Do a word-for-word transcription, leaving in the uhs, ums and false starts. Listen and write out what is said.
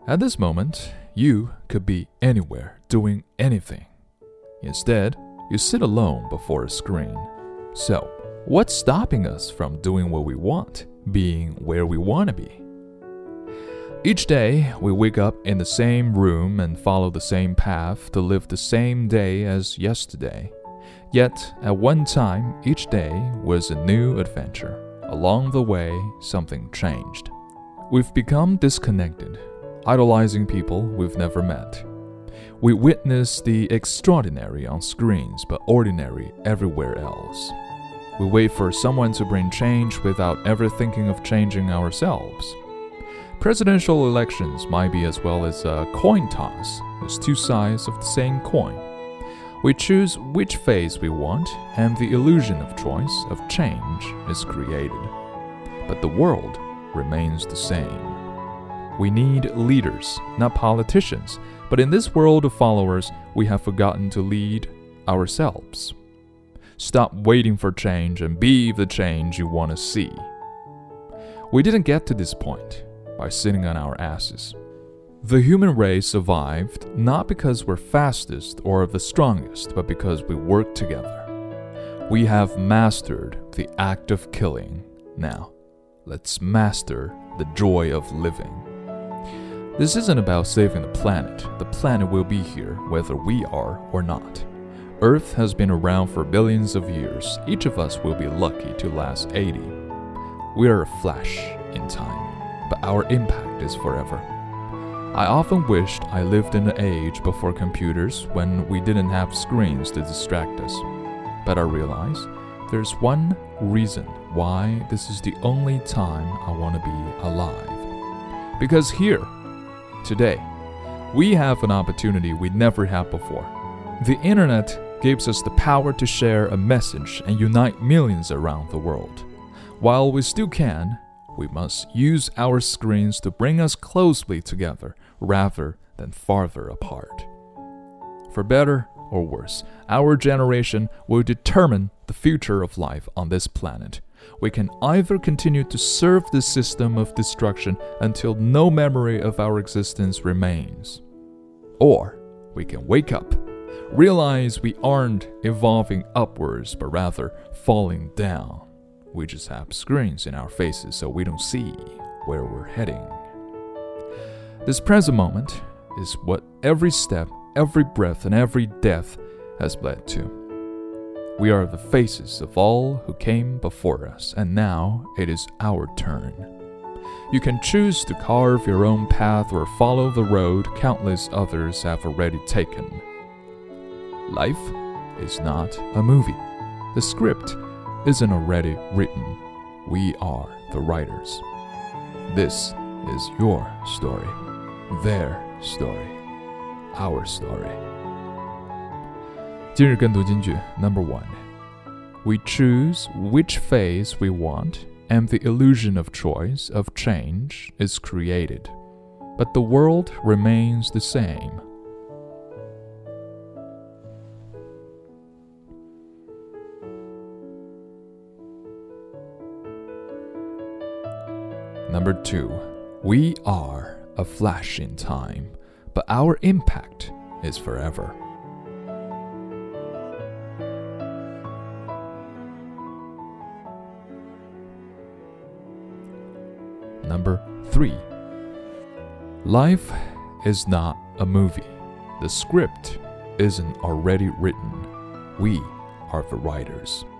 At this moment, you could be anywhere, doing anything. Instead, you sit alone before a screen. So, what's stopping us from doing what we want, being where we want to be? Each day, we wake up in the same room and follow the same path to live the same day as yesterday. Yet, at one time, each day was a new adventure. Along the way, something changed. We've become disconnected, idolizing people we've never met. We witness the extraordinary on screens, but ordinary everywhere else. We wait for someone to bring change without ever thinking of changing ourselves. Presidential elections might be as well as a coin toss, as two sides of the same coin. We choose which face we want, and the illusion of choice, of change, is created. But the world remains the same. We need leaders, not politicians, but in this world of followers, we have forgotten to lead ourselves. Stop waiting for change and be the change you want to see. We didn't get to this point by sitting on our asses. The human race survived not because we're fastest or the strongest, but because we worked together. We have mastered the act of killing. Now, let's master the joy of living. This isn't about saving the planet. The planet will be here whether we are or not. Earth has been around for billions of years. Each of us will be lucky to last eighty. We are a flash in time, but our impact is forever. I often wished I lived in an age before computers when we didn't have screens to distract us. But I realize there's one reason why this is the only time I want to be alive. Because here, today, we have an opportunity we never had before. The internet gives us the power to share a message and unite millions around the world. While we still can, we must use our screens to bring us closely together rather than farther apart. For better or worse, our generation will determine the future of life on this planet. We can either continue to serve this system of destruction until no memory of our existence remains, or we can wake up, realize we aren't evolving upwards but rather falling down. We just have screens in our faces so we don't see where we're heading. This present moment is what every step, every breath, and every death has led to. We are the faces of all who came before us, and now it is our turn. You can choose to carve your own path or follow the road countless others have already taken. Life is not a movie. The script isn't already written. We are the writers. This is your story, their story, our story. 今日跟读金句 Number one. We choose which phase we want, and the illusion of choice, of change, is created. But the world remains the same. Number two. We are a flash in time, but our impact is forever. Number three. Life is not a movie. The script isn't already written. We are the writers.